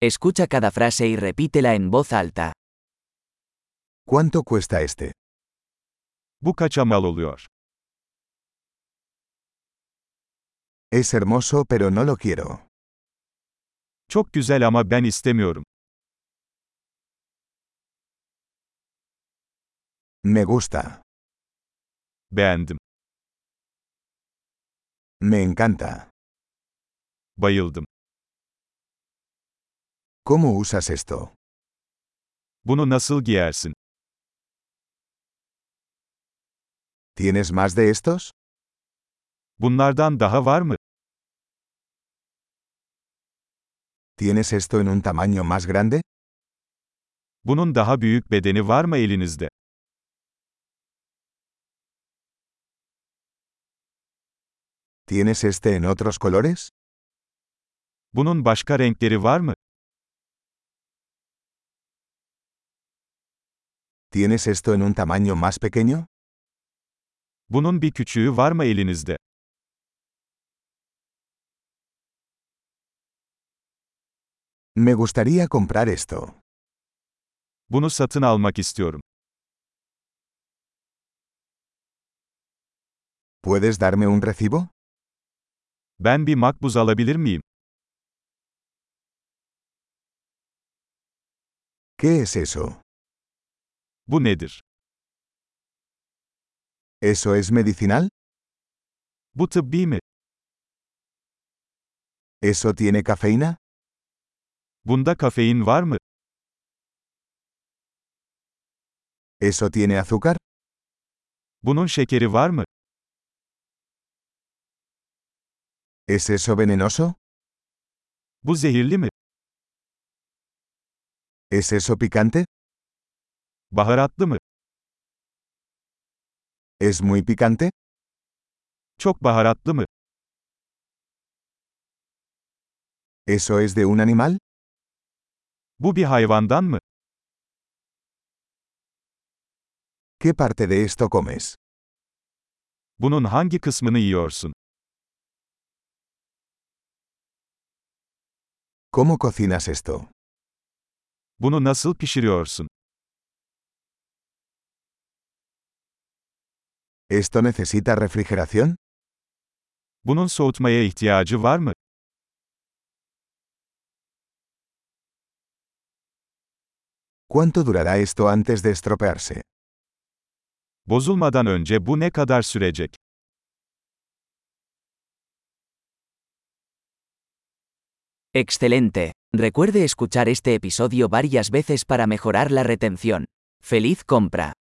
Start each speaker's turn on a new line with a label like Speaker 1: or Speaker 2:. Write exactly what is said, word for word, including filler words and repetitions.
Speaker 1: Escucha cada frase y repítela en voz alta.
Speaker 2: ¿Cuánto cuesta este?
Speaker 3: Bu kaça mal oluyor?
Speaker 2: Es hermoso pero no lo quiero.
Speaker 3: Çok güzel ama ben istemiyorum.
Speaker 2: Me gusta.
Speaker 3: Beğendim.
Speaker 2: Me encanta.
Speaker 3: Bayıldım.
Speaker 2: ¿Cómo usas esto?
Speaker 3: Bunu nasıl giyersin?
Speaker 2: ¿Tienes más de estos?
Speaker 3: Bunlardan daha var mı?
Speaker 2: ¿Tienes esto en un tamaño más grande?
Speaker 3: Bunun daha büyük bedeni var mı elinizde?
Speaker 2: ¿Tienes este en otros colores?
Speaker 3: Bunun başka renkleri var mı?
Speaker 2: ¿Tienes esto en un tamaño más pequeño?
Speaker 3: Bunun bir küçüğü var mı elinizde?
Speaker 2: Me gustaría comprar esto.
Speaker 3: Bunu satın almak istiyorum.
Speaker 2: ¿Puedes darme un recibo?
Speaker 3: Ben bir makbuz alabilir miyim?
Speaker 2: ¿Qué es eso?
Speaker 3: Bu nedir?
Speaker 2: ¿Eso es medicinal?
Speaker 3: Bu tıbbi mi?
Speaker 2: ¿Eso tiene cafeína?
Speaker 3: Bunda kafein var mı?
Speaker 2: ¿Eso tiene azúcar?
Speaker 3: Bunun şekeri var mı?
Speaker 2: ¿Es eso venenoso?
Speaker 3: Bu zehirli mi?
Speaker 2: ¿Es eso picante?
Speaker 3: Baharatlı mı?
Speaker 2: ¿Es muy picante?
Speaker 3: Çok baharatlı mı?
Speaker 2: ¿Eso es de un animal?
Speaker 3: Bu bir hayvandan mı?
Speaker 2: ¿Qué parte de esto comes?
Speaker 3: Bunun hangi kısmını yiyorsun?
Speaker 2: ¿Cómo cocinas esto?
Speaker 3: Bunu nasıl pişiriyorsun?
Speaker 2: ¿Esto necesita refrigeración?
Speaker 3: Bunun soğutmaya ihtiyacı var mı?
Speaker 2: ¿Cuánto durará esto antes de estropearse?
Speaker 3: Bozulmadan önce bu ne kadar sürecek?
Speaker 1: Excelente. Recuerde escuchar este episodio varias veces para mejorar la retención. ¡Feliz compra!